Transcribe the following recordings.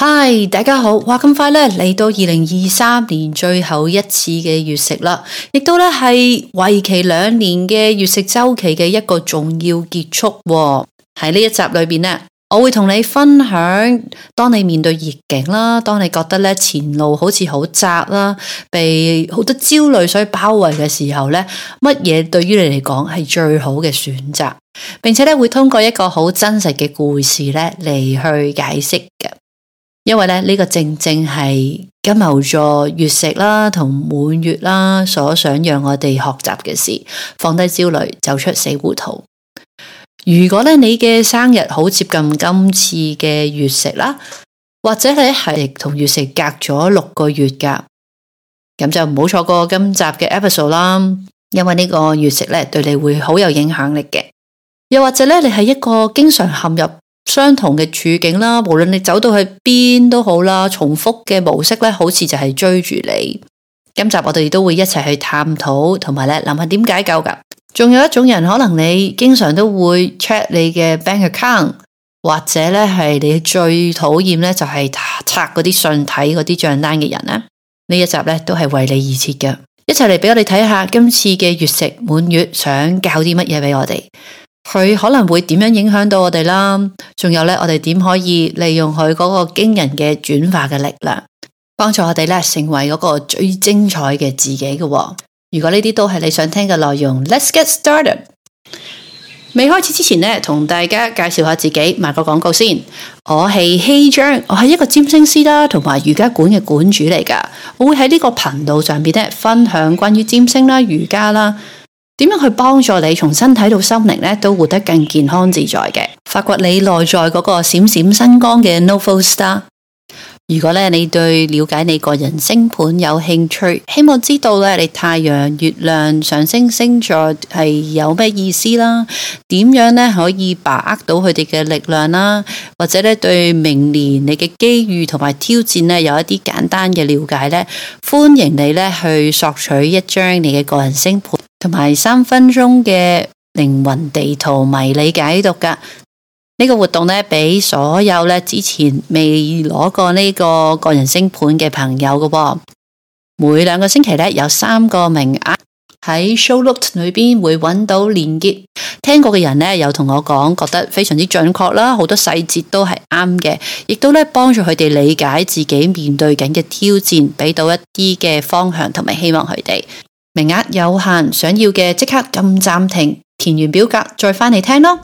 嗨，大家好！哇，咁快咧嚟到2023年最後一次嘅月食啦，亦都咧係為期2年嘅月食週期嘅一個重要結束喎。喺呢一集裏邊咧，我會同你分享，當你面對逆境啦，當你覺得咧前路好似好窄啦，被好多焦慮所包圍嘅時候咧，乜嘢對於你嚟講係最好嘅選擇，並且咧會通過一個好真實嘅故事咧嚟去解釋嘅。因為呢個正正係金牛座月食啦同滿月啦所想讓我哋學習嘅事，放低焦慮，走出死胡同。如果你嘅生日好接近今次嘅月食啦，或者你係同月食隔咗6個月噶，咁就唔好錯過今集嘅 episode 啦。因為呢個月食對你會好有影響力嘅。又或者你係一個經常陷入相同嘅處境啦，無論你走到去邊都好啦，重複嘅模式好似就係追住你。今集我哋都會一齊去探討，同埋諗下點解救噶。仲有一種人，可能你經常都會 check 你嘅 bank account， 或者係你最討厭就係拆嗰啲信睇嗰啲賬單嘅人呢。呢一集都係為你而設嘅，一齊嚟俾我哋睇下今次嘅月食滿月想教啲乜嘢俾我哋。佢可能會點樣影響到我哋啦？仲有我哋點可以利用佢嗰個驚人嘅轉化嘅力量，幫助我哋成為嗰個最精彩嘅自己嘅。如果呢啲都係你想聽嘅內容 ，Let's get started。未開始之前同大家介紹下自己，賣個廣告先。我係希章，我係一個占星師啦，同埋瑜伽館嘅館主嚟噶。我會喺呢個頻道上邊分享關於占星啦、瑜伽啦。點樣去幫助你從身體到心靈都活得更健康自在嘅，發掘你內在嗰個閃閃星光嘅 Novel Star。如果你對了解你個人星盤有興趣，希望知道你太陽、月亮、上升星座係有咩意思啦，點樣可以把握到佢哋嘅力量啦，或者對明年你嘅機遇同埋挑戰有一啲簡單嘅了解呢，歡迎你去索取一張你嘅個人星盤同埋3分鐘嘅靈魂地圖迷你解讀噶。呢個活動俾所有之前未攞過呢個人星盤嘅朋友噶。每2個星期有3個名額，喺 show note 裏邊會揾到連結。聽過嘅人有同我講，覺得非常之準確啦，好多細節都係啱嘅，亦都幫助佢哋理解自己面對緊嘅挑戰，俾到一啲嘅方向同埋希望佢哋。名額有限，想要嘅即刻撳暫停，填完表格再返嚟聽咯。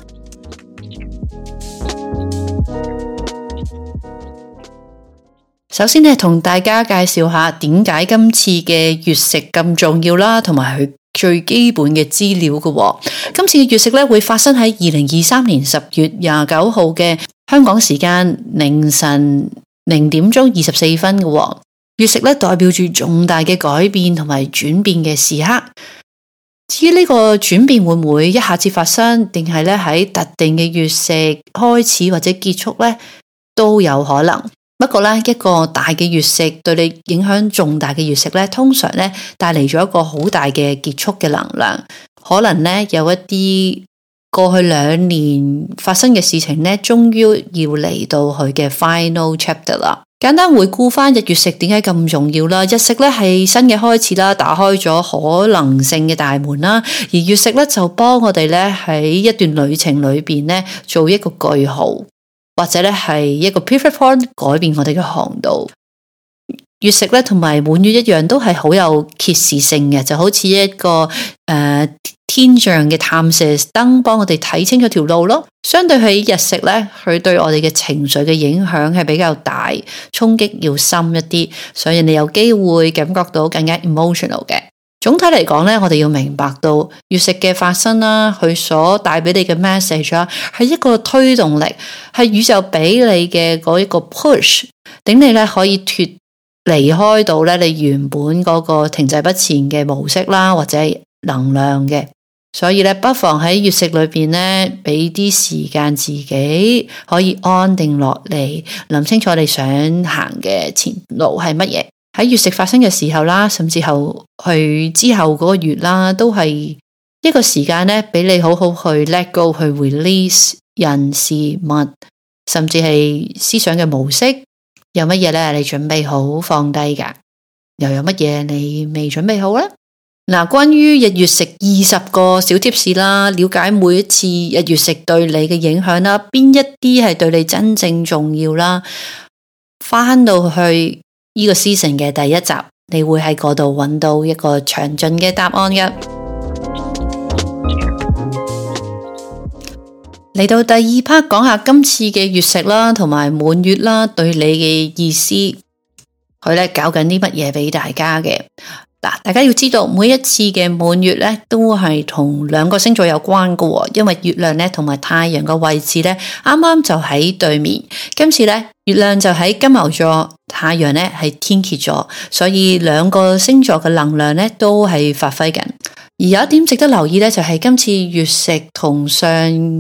首先同大家介紹下點解今次嘅月食咁重要啦，同埋佢最基本嘅資料嘅。今次嘅月食會發生喺2023年10月29號嘅香港時間凌晨0點鐘24分嘅。月食代表住重大嘅改變同埋轉變嘅時刻。至於呢個轉變會唔會一下子發生，定係喺特定嘅月食開始或者結束都有可能。不過一個大嘅月食對你影響重大嘅月食通常帶嚟咗一個好大嘅結束嘅能量。可能有一啲過去2年發生嘅事情終於要嚟到佢嘅 final chapter 啦。簡單回顧翻日月食點解咁重要啦？日食係新嘅開始啦，打開咗可能性嘅大門啦，而月食就幫我哋喺一段旅程裏邊做一個句號，或者係一個 pivot point， 改變我哋嘅航道。月食同埋滿月一樣，都係好有揭示性嘅，就好似一個天象嘅探射燈，幫我哋睇清楚條路咯。相對喺日食佢對我哋嘅情緒嘅影響係比較大，衝擊要深一啲，所以你有機會感覺到更加 emotional 嘅。總體嚟講我哋要明白到月食嘅發生啦，佢所帶俾你嘅 message 啦，係一個推動力，係宇宙俾你嘅嗰一個 push， 等你可以離開到你原本嗰個停滯不前嘅模式啦，或者係能量嘅。所以不妨喺月食裏邊俾啲時間自己可以安定落嚟，諗清楚你想行嘅前路係乜嘢。喺月食發生嘅時候啦，甚至後去之後嗰個月啦，都係一個時間俾你好好去 let go， 去 release 人事物，甚至係思想嘅模式， 有乜嘢咧？你準備好放低㗎？又有乜嘢你未準備好呢？嗱，關於日月食20個小貼士啦，了解每一次日月食對你嘅影響啦，邊一啲係對你真正重要啦，返到去呢個 season 嘅第一集，你會喺嗰度揾到一個詳盡嘅答案嘅。嚟到第二 part 講下今次嘅月食啦，同埋滿月啦，對你嘅意思，佢咧搞緊啲乜嘢俾大家嘅？嗱，大家要知道每一次嘅滿月咧，都係同兩個星座有關嘅，因為月亮咧同埋太陽嘅位置咧，啱啱就喺對面。今次咧，月亮就喺金牛座，太陽咧係天蠍座，所以兩個星座嘅能量咧都係發揮緊。而有一點值得留意咧，就係今次月食同上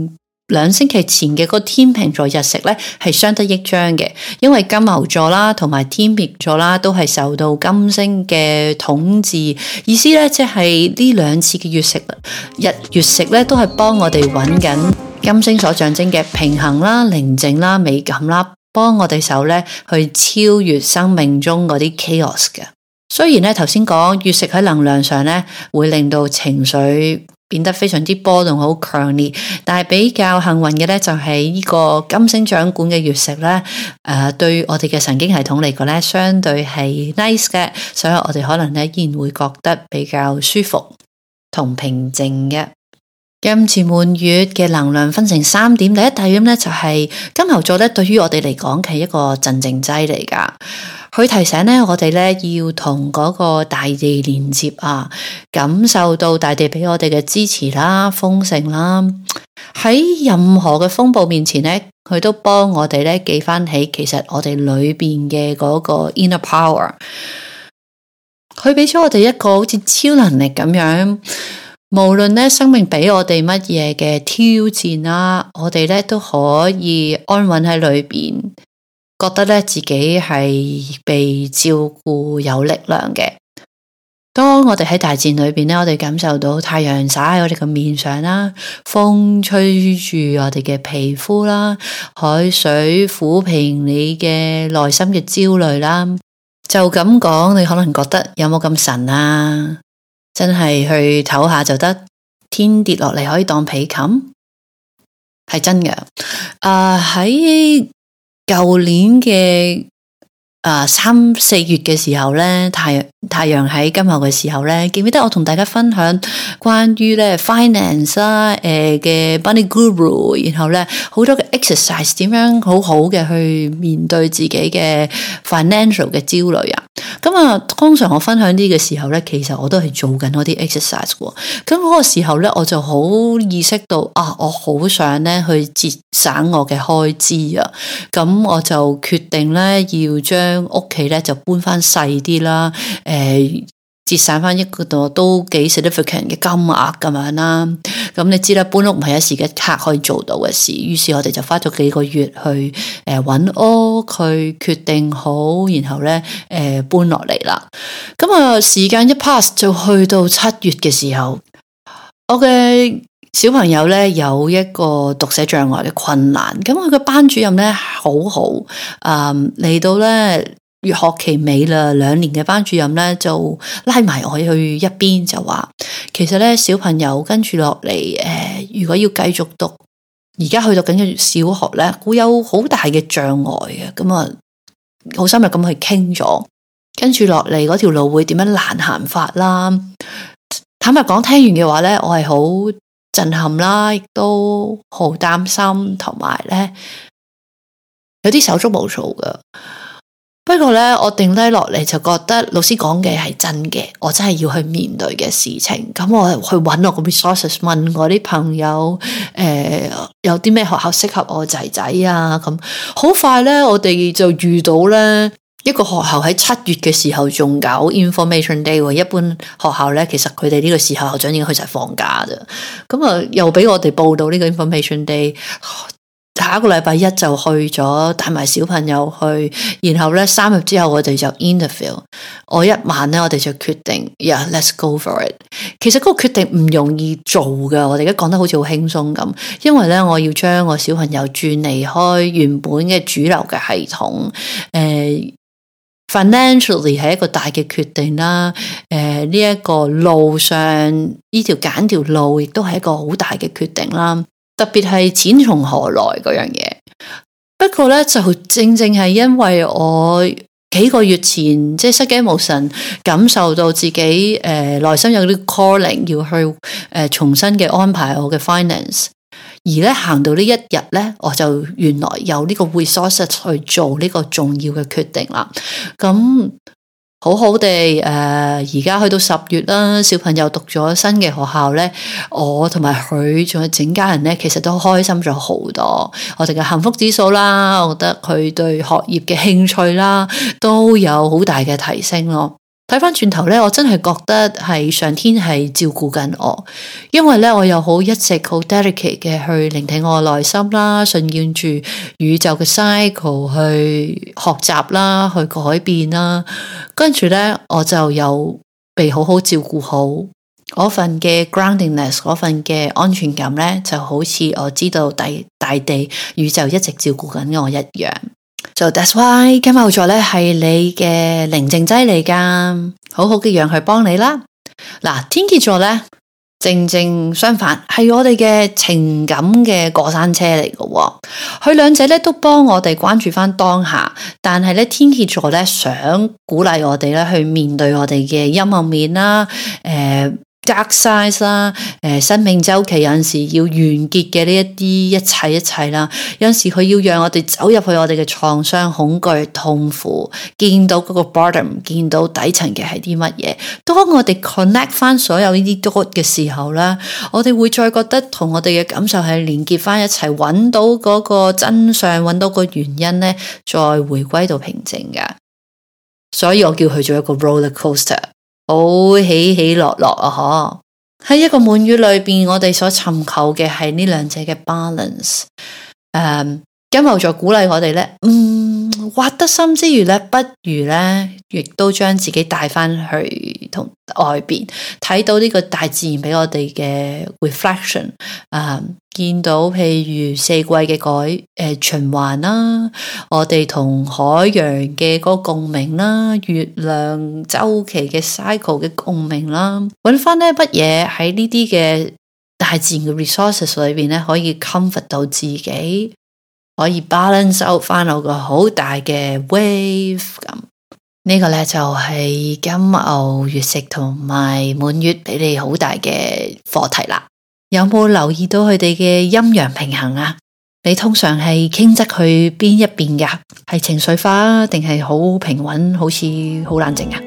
2星期前嘅嗰個天秤座日食咧係相得益彰嘅，因為金牛座啦同埋天秤座啦都係受到金星嘅統治，意思咧即係呢兩次嘅月食咧都係幫我哋揾緊金星所象徵嘅平衡啦、寧靜啦、美感啦，幫我哋手咧去超越生命中嗰啲 chaos 嘅。雖然咧頭先講月食喺能量上咧會令到情緒變得非常之波動，好強烈。但係比較幸運嘅咧，就係呢個金星掌管嘅月食咧，對我哋嘅神經系統嚟講咧，相對係 nice 嘅，所以我哋可能咧依然會覺得比較舒服同平靜嘅。今次滿月嘅能量分成3點，第一點咧就係金牛座咧，對於我哋嚟講係一個鎮靜劑嚟噶。佢提醒咧我哋咧要同嗰個大地連接啊，感受到大地俾我哋嘅支持啦、豐盛啦。喺任何嘅風暴面前咧，佢都幫我哋咧記翻起，其實我哋裏邊嘅嗰個 inner power。佢俾咗我哋一個好似超能力咁樣，無論咧生命俾我哋乜嘢嘅挑戰啦，我哋咧都可以安穩喺裏邊。覺得咧自己係被照顧有力量嘅。當我哋喺大自然裏邊咧，我哋感受到太陽灑喺我哋嘅面上啦，風吹住我哋嘅皮膚啦，海水撫平你嘅內心嘅焦慮啦。就咁講，你可能覺得有冇咁神啊？真係去唞下就得，天跌落嚟可以當被冚，係真嘅。喺舊年嘅3、4月嘅時候咧，太陽喺金牛嘅時候咧，記唔記得我同大家分享關於咧 finance 啦嘅 Money Guru， 然後咧好多嘅 exercise 點樣好好嘅去面對自己嘅 financial 嘅焦慮啊。咁啊，通常我分享啲嘅時候咧，其實我都係做緊嗰啲 exercise 喎。咁嗰個時候咧，我就好意識到啊，我好想咧去節省我嘅開支啊。咁我就決定咧要將屋企咧就搬翻細啲啦，節省翻一個都幾 significant 嘅金額咁樣啦。咁你知啦，搬屋唔係一時一刻可以做到嘅事，於是我哋就花咗幾個月去揾屋，去決定好，然後咧搬落嚟啦。咁啊，時間一 pass 就去到7月嘅時候，我嘅小朋友咧有一個讀寫障礙嘅困難，咁佢嘅班主任咧好好，嚟到咧月學期尾啦，2年嘅班主任咧就拉埋我去一邊就話，其實咧小朋友跟住落嚟，如果要繼續讀，而家去讀緊嘅小學咧，會有好大嘅障礙嘅，咁啊好深入咁去傾咗，跟住落嚟嗰條路會點樣難行法啦。坦白講，聽完嘅話咧，我係好震撼啦，亦都好擔心，同埋咧有啲手足無措噶。不過咧，我定低落嚟就覺得老師講嘅係真嘅，我真係要去面對嘅事情。咁我去揾我個 resources，問我啲朋友，有啲咩學校適合我仔仔啊？咁好快咧，我哋就遇到咧一個學校喺7月嘅時候仲搞 information day。一般學校咧，其實佢哋呢個時候校長已經去晒放假咋。咁啊，又俾我哋報到呢個 information day。 下一個禮拜一就去咗，帶埋小朋友去，然後咧3日之後我哋就 interview。我一晚咧我哋就決定 ，let's go for it。其實嗰個決定唔容易做噶，我哋而家講得好似好輕鬆咁，因為咧我要將我小朋友轉離開原本嘅主流嘅系統，financially 係一個大嘅決定啦，呢一個路上呢條揀條路亦都係一個好大嘅決定啦，特別係錢從何來嗰樣嘢。不過咧就正係因為我幾個月前即係失驚無神，感受到自己內心有啲 calling 要去重新嘅安排我嘅 finance。而咧行到呢一日咧，我就原來有呢個 resources 去做呢個重要嘅決定啦。咁好好地而家去到10月啦，小朋友讀咗新嘅學校咧，我同埋佢仲有整家人咧，其實都開心咗好多。我哋嘅幸福指數啦，我覺得佢對學業嘅興趣啦，都有好大嘅提升咯。睇翻轉頭咧，我真係覺得係上天係照顧緊我，因為咧我又一直好 dedicate 嘅去聆聽我內心啦，順應住宇宙嘅 cycle 去學習啦，去改變啦，跟住咧我就有被好好照顧好，嗰份嘅 groundingness， 嗰份嘅安全感咧，就好似我知道大地宇宙一直照顧緊我一樣。So that's why 金牛座咧係你嘅寧靜劑嚟噶，好好嘅讓佢幫你啦。嗱，天蠍座咧正相反，係我哋嘅情感嘅過山車嚟嘅。佢兩者咧都幫我哋關注翻當下，但係咧天蠍座咧想鼓勵我哋咧去面對我哋嘅陰暗面啦，dark side 啦，生命週期有陣時要完結嘅呢一啲一切啦，有陣時佢要讓我哋走入去我哋嘅創傷、恐懼、痛苦，見到嗰個 bottom， 見到底層嘅係啲乜嘢。當我哋 connect 翻所有呢啲 dot 嘅時候咧，我哋會再覺得同我哋嘅感受係連結翻一齊，揾到嗰個真相，揾到個原因咧，再回歸到平靜嘅。所以我叫佢做一個 roller coaster。好起起落落啊！喺一個滿月裏邊，我哋所尋求嘅係呢兩者嘅 balance。金牛座鼓勵我哋咧，挖得深之餘咧，不如咧，亦都將自己帶翻去同外邊，睇到呢個大自然俾我哋嘅 reflection。見到譬如四季嘅循環啦，我哋同海洋嘅嗰個共鳴啦，月亮周期嘅 cycle 嘅共鳴啦，揾翻咧乜嘢喺呢啲嘅大自然嘅 resources 裏邊咧，可以 comfort 到自己，可以 balance out 翻我個好大嘅 wave 咁。呢個咧就係金牛月食同埋滿月俾你好大嘅課題啦。有冇留意到佢哋嘅陰陽平衡啊？你通常係傾側去邊一邊噶？係情緒化定係好平穩，好似好冷靜啊？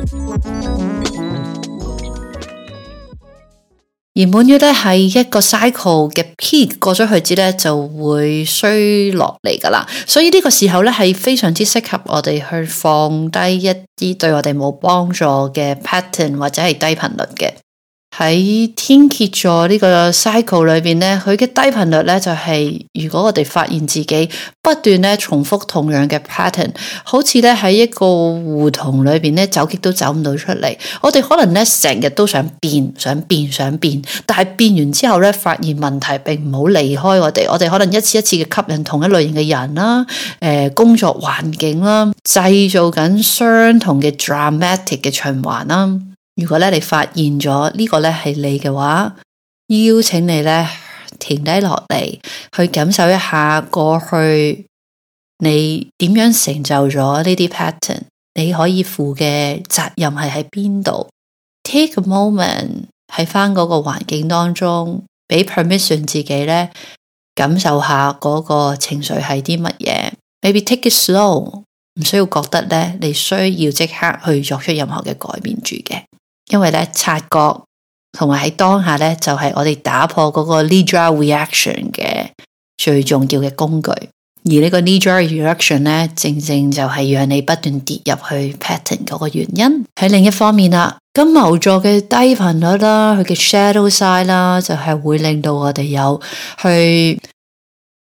而滿月咧係一個 cycle 嘅 peak， 過咗去之咧就會衰落嚟噶啦，所以呢個時候咧係非常之適合我哋去放低一啲對我哋冇幫助嘅 pattern 或者係低頻率嘅。喺天蠍座呢個 cycle 裏邊咧，佢嘅低頻率咧就係如果我哋發現自己不斷咧重複同樣嘅 pattern， 好似咧喺一個胡同裏邊咧走極都走唔到出嚟。我哋可能咧成日都想變，但係變完之後咧發現問題並唔好離開我哋。我哋可能一次一次嘅吸引同一類型嘅人啦，工作環境啦，製造緊相同嘅 dramatic 嘅循環啦。如果咧你發現咗呢個咧係你嘅話，邀請你咧停低落嚟，去感受一下過去你點樣成就咗呢啲 pattern， 你可以負嘅責任係喺邊度 ？Take a moment 喺翻嗰個環境當中，俾 permission 自己咧感受下嗰個情緒係啲乜嘢。Maybe take it slow， 唔需要覺得咧你需要即刻去作出任何嘅改變住嘅。因為咧察覺同埋喺當下咧就係我哋打破嗰個 knee-jerk reaction 嘅最重要嘅工具，而呢個 knee-jerk reaction 咧正就係讓你不斷跌入去 pattern 嗰個原因。喺另一方面啦，金牛座嘅低頻率啦，佢嘅 shadow side 啦，就係會令到我哋有去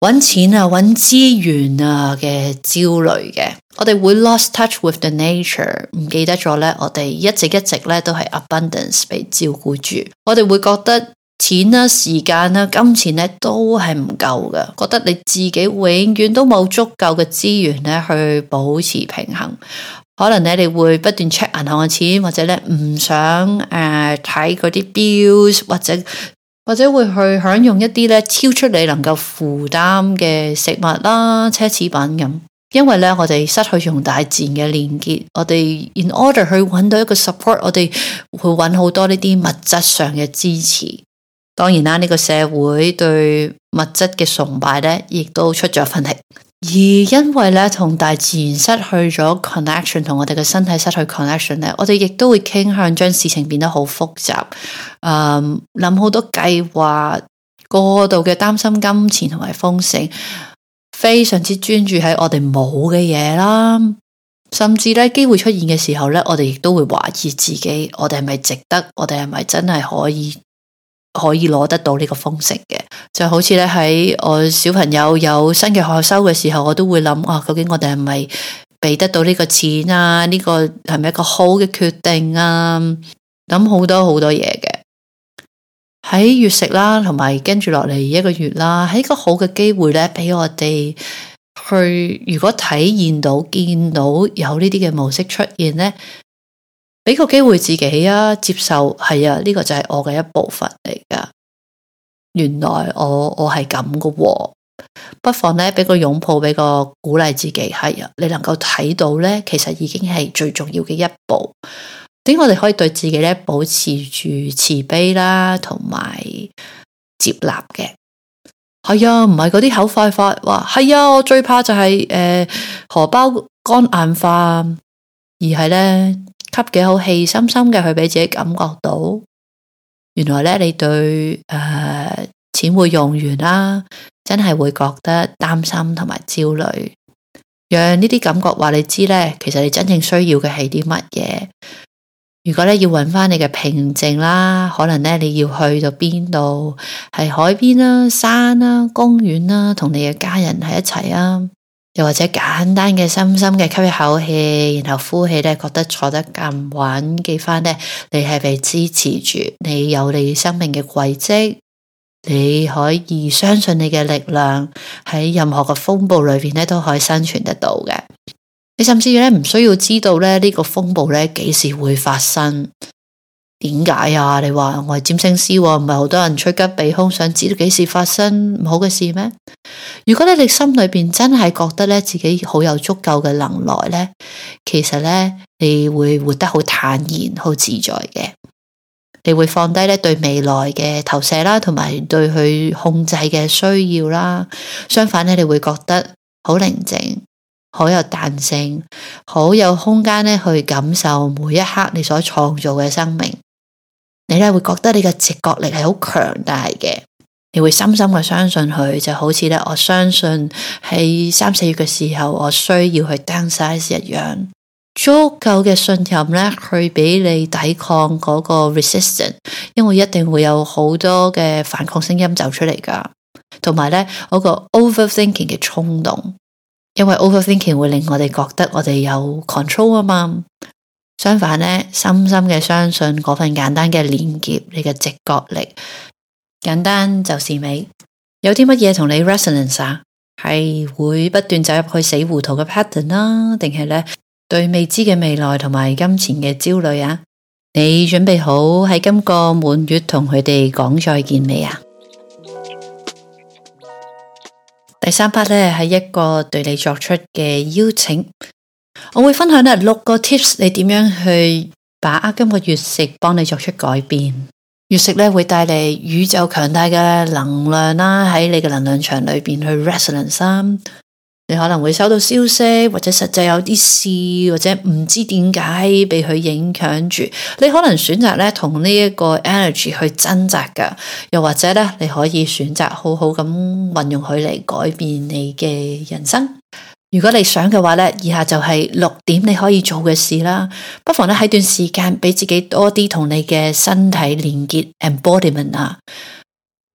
揾錢啊、揾資源啊嘅焦慮嘅，我哋會 lost touch with the nature， 唔記得咗咧，我哋一直咧都係 abundance 被照顧住，我哋會覺得錢啦、時間啦、金錢咧都係唔夠嘅，覺得你自己永遠都冇足夠嘅資源咧去保持平衡，可能咧你會不斷 check 銀行嘅錢，或者咧唔想睇嗰啲 bills，或者會去享用一啲咧超出你能夠負擔嘅食物啦、奢侈品咁，因為咧我哋失去同大自然嘅連結，我哋 in order 去揾到一個 support， 我哋會揾好多呢啲物質上嘅支持。當然啦，呢個社會對物質嘅崇拜咧，亦都出咗份力。而因為咧同大自然失去咗 connection， 同我哋嘅身體失去 connection 咧，我哋亦都會傾向將事情變得好複雜，諗好多計劃，過度嘅擔心金錢同埋豐盛，非常之專注喺我哋冇嘅嘢啦，甚至咧機會出現嘅時候咧，我哋亦都會懷疑自己，我哋係咪值得？我哋係咪真係可以攞得到呢個豐盛嘅？就好似咧喺我小朋友有新嘅學收嘅時候，我都會諗究竟我哋係咪俾得到呢個錢啊？呢個係咪一個好嘅決定啊？諗好多嘢嘅。喺月食啦，同埋跟住落嚟一個月啦，係一個好嘅機會咧，俾我哋去如果體驗到見到有呢啲嘅模式出現咧，俾個機會自己啊，接受係啊，呢個就係我嘅一部分嚟噶。原來我係咁噶喎，不妨咧俾個擁抱，俾個鼓勵自己，係啊，你能夠睇到咧，其實已經係最重要嘅一步。點我哋可以對自己咧保持住慈悲啦，同埋接納嘅。係啊，唔係嗰啲口快話係啊，我最怕就係荷包肝硬化，而係咧吸幾口氣，深深嘅去俾自己感覺到，原來咧你對錢會用完啦，真係會覺得擔心同埋焦慮，讓呢啲感覺話你知咧，其實你真正需要嘅係啲乜嘢。如果咧要揾翻你嘅平靜啦，可能咧你要去到邊度，係海邊啦、山啦、公園啦，同你嘅家人喺一齊啊，又或者簡單嘅深深嘅吸一口氣，然後呼氣咧，覺得坐得咁穩，記翻咧你係被支持住，你有你生命嘅軌跡，你可以相信你嘅力量，喺任何嘅風暴裏邊咧都可以生存得到嘅。你甚至咧唔需要知道咧呢個風暴咧幾時會發生？點解啊？你話我係占星師，唔係好多人趨吉避凶，想知道幾時發生唔好嘅事咩？如果你心裏邊真係覺得咧自己好有足夠嘅能耐咧，其實咧你會活得好坦然、好自在嘅。你會放低咧對未來嘅投射啦，同埋對佢控制嘅需要啦。相反咧，你會覺得好寧靜。好有彈性，好有空間咧去感受每一刻你所創造嘅生命。你咧會覺得你嘅直覺力係好強大嘅，你會深深嘅相信佢，就好似咧我相信喺3、4月嘅時候，我需要去 downsize 一樣。足夠嘅信任咧，去俾你抵抗嗰個 resistance， 因為一定會有好多嘅反抗聲音走出嚟噶，同埋咧嗰個 overthinking 嘅衝動。因為 overthinking 會令我哋覺得我哋有 control 啊嘛，相反咧，深深嘅相信嗰份簡單嘅連結，你嘅直覺力，簡單就是美。有啲乜嘢同你 resonance 啊？係會不斷走入去死糊塗嘅 pattern 啦，定係咧對未知嘅未來同埋金錢嘅焦慮啊？你準備好喺今個滿月同佢哋講再見未啊？第3 part 咧係一個對你作出嘅邀請，我會分享咧6個 tips， 你點樣去把握今個月食，幫你作出改變。月食咧會帶嚟宇宙強大嘅能量啦，喺你嘅能量場裏邊去 resonance。你可能會收到消息，或者實際有啲事，或者唔知點解被佢影響住。你可能選擇咧同呢一個 energy 去掙扎噶，又或者咧你可以選擇好好咁運用佢嚟改變你嘅人生。如果你想嘅話咧，以下就係6點你可以做嘅事啦。不妨咧喺段時間俾自己多啲同你嘅身體連結 embodiment 啊。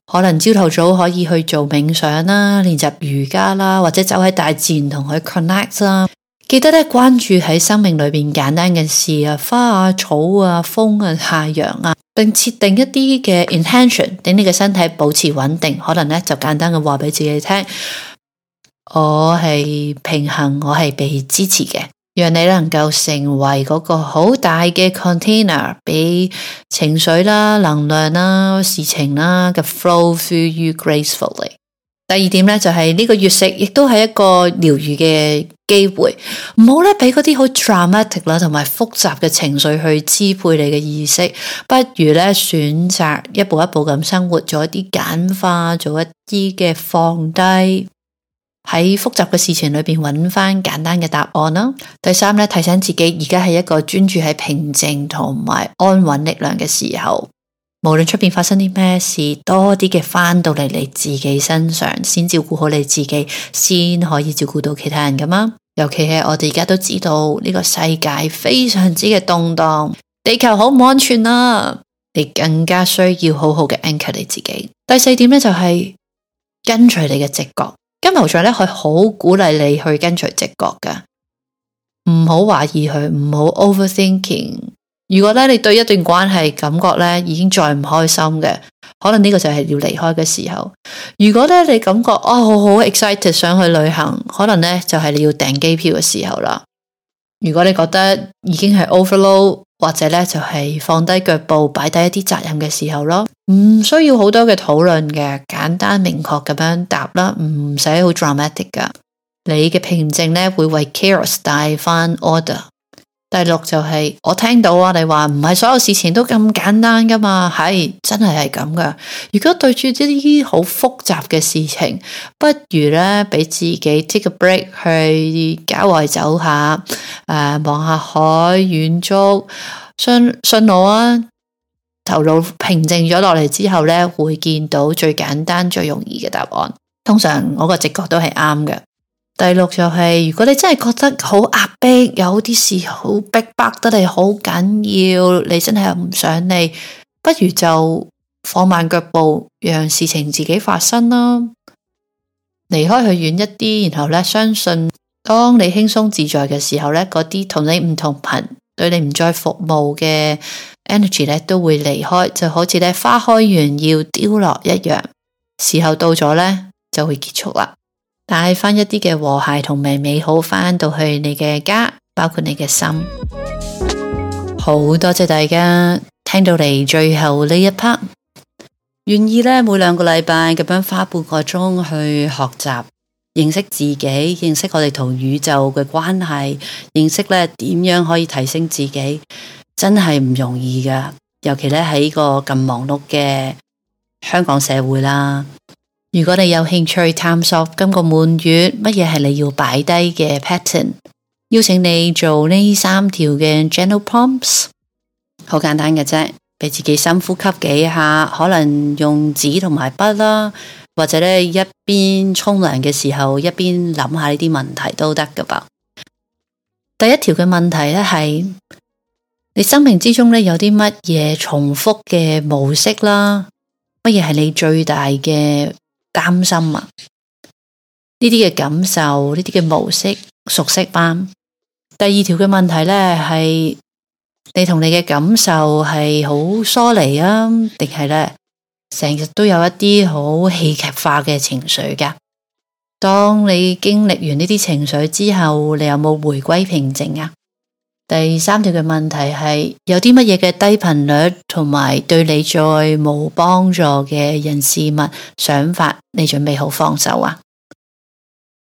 可能朝頭早可以去做冥想啦，練習瑜伽啦，或者走喺大自然同佢 connect 啦。記得咧關注喺生命裏邊簡單嘅事啊，花啊、草啊、風啊、太陽啊，並設定一啲嘅 intention，令你嘅身體保持穩定。可能咧就簡單嘅話俾自己聽，我係平衡，我係被支持嘅，讓你能夠成為嗰個好大嘅 container，俾情緒啦、能量啦、事情啦嘅 flow through you gracefully。第二點咧就係呢個月食亦都係一個療癒嘅機會，唔好咧俾嗰啲好 dramatic 啦同埋複雜嘅情緒去支配你嘅意識，不如咧選擇一步一步咁生活，做一啲簡化，做一啲嘅放低，喺複雜嘅事情裏邊揾翻簡單嘅答案啦。第三咧，提醒自己而家係一個專注喺平靜同埋安穩力量嘅時候。無論出邊發生啲咩事，多啲嘅翻到嚟你自己身上，先照顧好你自己，先可以照顧到其他人噶嘛。尤其係我哋而家都知道呢個世界非常之嘅動盪，地球好唔安全啊，你更加需要好好嘅 anchor 你自己。第四點咧就係跟隨你嘅直覺。金牛座咧佢好鼓勵你去跟隨直覺噶，唔好懷疑佢，唔好 overthinking。如果咧你對一段關係感覺咧已經再唔開心嘅，可能呢個就係要離開嘅時候。如果咧你感覺好 excited 想去旅行，可能咧就係你要訂機票嘅時候啦。如果你覺得已經係 overload，或者咧就係放低腳步，擺低一啲責任嘅時候咯。唔需要好多嘅討論嘅，簡單明確咁樣答啦，唔使好 dramatic 噶。你嘅平靜咧會為 chaos 帶翻 order。第六就係我聽到啊，你話唔係所有事情都咁簡單噶嘛，係真係咁噶。如果對住呢啲好複雜嘅事情，不如咧俾自己 take a break 去郊外走下，望下海遠足，信我啊，頭腦平靜咗落嚟之後咧，會見到最簡單最容易嘅答案。通常我個直覺都係啱嘅。第六就係如果你真係覺得好壓迫，有啲事好逼迫得你好緊要，你真係唔想理，不如就放慢腳步，讓事情自己發生啦。離開佢遠一啲，然後咧相信當你輕鬆自在嘅時候咧，嗰啲同你唔同頻，對你唔再服務嘅 energy 咧都會離開，就好似咧花開完要凋落一樣，時候到咗咧就會結束啦。帶翻一啲嘅和諧同埋美好翻到去你嘅家，包括你嘅心。好多謝大家聽到嚟最後呢一 part， 願意咧每2個禮拜咁樣花半個鐘去學習，認識自己，認識我哋同宇宙嘅關係，認識咧點樣可以提升自己，真係唔容易噶。尤其咧喺個咁忙碌嘅香港社會啦。如果你有興趣探索今個滿月乜嘢係你要擺低嘅 pattern， 邀請你做呢3條嘅 journal prompts， 好簡單嘅啫，俾自己深呼吸幾下，可能用紙同埋筆啦，或者咧一邊沖涼嘅時候一邊諗下呢啲問題都得噶噃。第一條嘅問題咧係你生命之中咧有啲乜嘢重複嘅模式啦，乜嘢係你最大嘅擔心啊？呢啲嘅感受，呢啲嘅模式熟悉嗎？第二條嘅問題呢，係你同你嘅感受係好疏離啊，定係呢成日都有一啲好戲劇化嘅情緒噶？當你經歷完呢啲情緒之後，你有冇回歸平靜啊？第三條嘅問題係有啲乜嘢嘅低頻率同埋對你再冇幫助嘅人事物想法，你準備好放手啊？